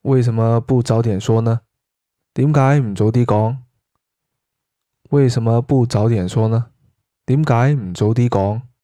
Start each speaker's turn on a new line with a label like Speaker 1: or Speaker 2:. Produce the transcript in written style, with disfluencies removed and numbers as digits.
Speaker 1: 為什麼不早點說呢？點解唔早啲講？為什麼不早點說呢？點解唔早啲講？